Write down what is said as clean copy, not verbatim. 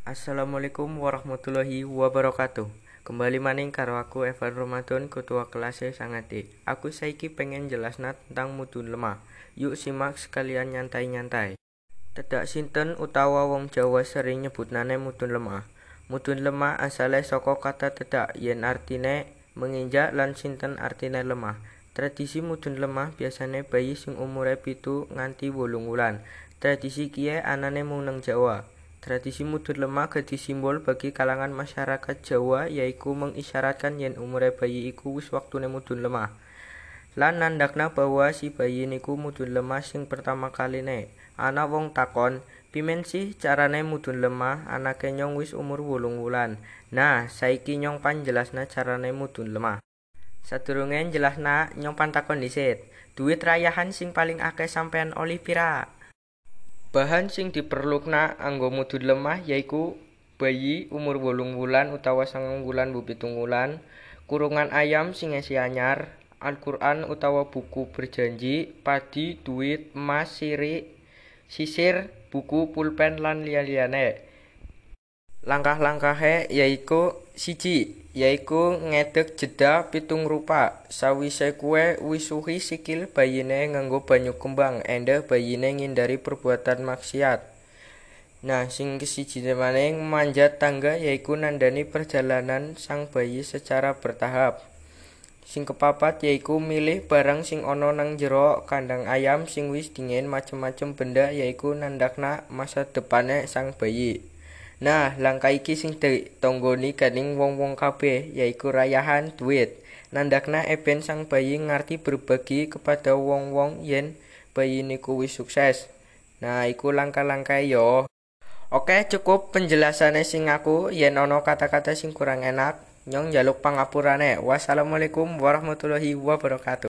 Assalamualaikum warahmatullahi wabarakatuh. Kembali maning karo aku Evan Ramadan, ketua kelas sangati. Aku saiki pengen jelasna tentang mudhun lemah. Yuk simak sekalian nyantai-nyantai. Tedak sinten utawa wong Jawa sering nyebutnane mudhun lemah. Mudhun lemah asale saka kata tedak yen artine menginjak lan sinten artine lemah. Tradisi mudhun lemah biasane bayi sing umure 7 nganti 8 wulan. Tradisi kiye anane mung nang Jawa. Tradisi mudhun lemah dadi simbol bagi kalangan masyarakat Jawa, yaiku mengisyaratkan yen umure bayi iku wis waktune mudhun lemah. Lan nandakna bahwa si bayi niku mudhun lemah sing pertama kaline. Ana wong takon, pimen sih carane mudhun lemah anake nyong wis umur 8 wulan. Nah, saiki nyong panjelasna carane mudhun lemah. Sadurunge jelasna nyong pantakon dhisit. Duit rayahan sing paling akeh sampean oli pira? Bahan sing diperlukna anggo mudhun lemah yaiku bayi umur 8 wulan utawa 9 wulan bu 7 wulan, kurungan ayam sing esi anyar, Al-Qur'an utawa buku berjanji, padi, duit, emas, sisir, buku, pulpen lan liya-liyane. Langkah-langkahe yaiku 1. Yaiku ngedeg jeda 7 rupa. Sawise kuwe wisuhi sikil bayine nganggo banyu kembang, endeh bayine ngindari perbuatan maksiat. Nah, sing kesijine maning manjat tangga yaiku nandani perjalanan sang bayi secara bertahap. Sing kepapat yaiku milih barang sing ana nang jero kandang ayam sing wis dingin, macem-macem benda yaiku nandakna masa depane sang bayi. Nah, langkah iki sing ditonggoni dening wong-wong kabeh yaiku rayahan duit. Nandakna eben sang bayi ngarti berbagi kepada wong-wong yen bayi niku wis sukses. Nah, iku langkah-langkah yo. Oke, cukup penjelasane sing aku. Yen ana kata-kata sing kurang enak, nyong njaluk pangapurane. Wassalamualaikum warahmatullahi wabarakatuh.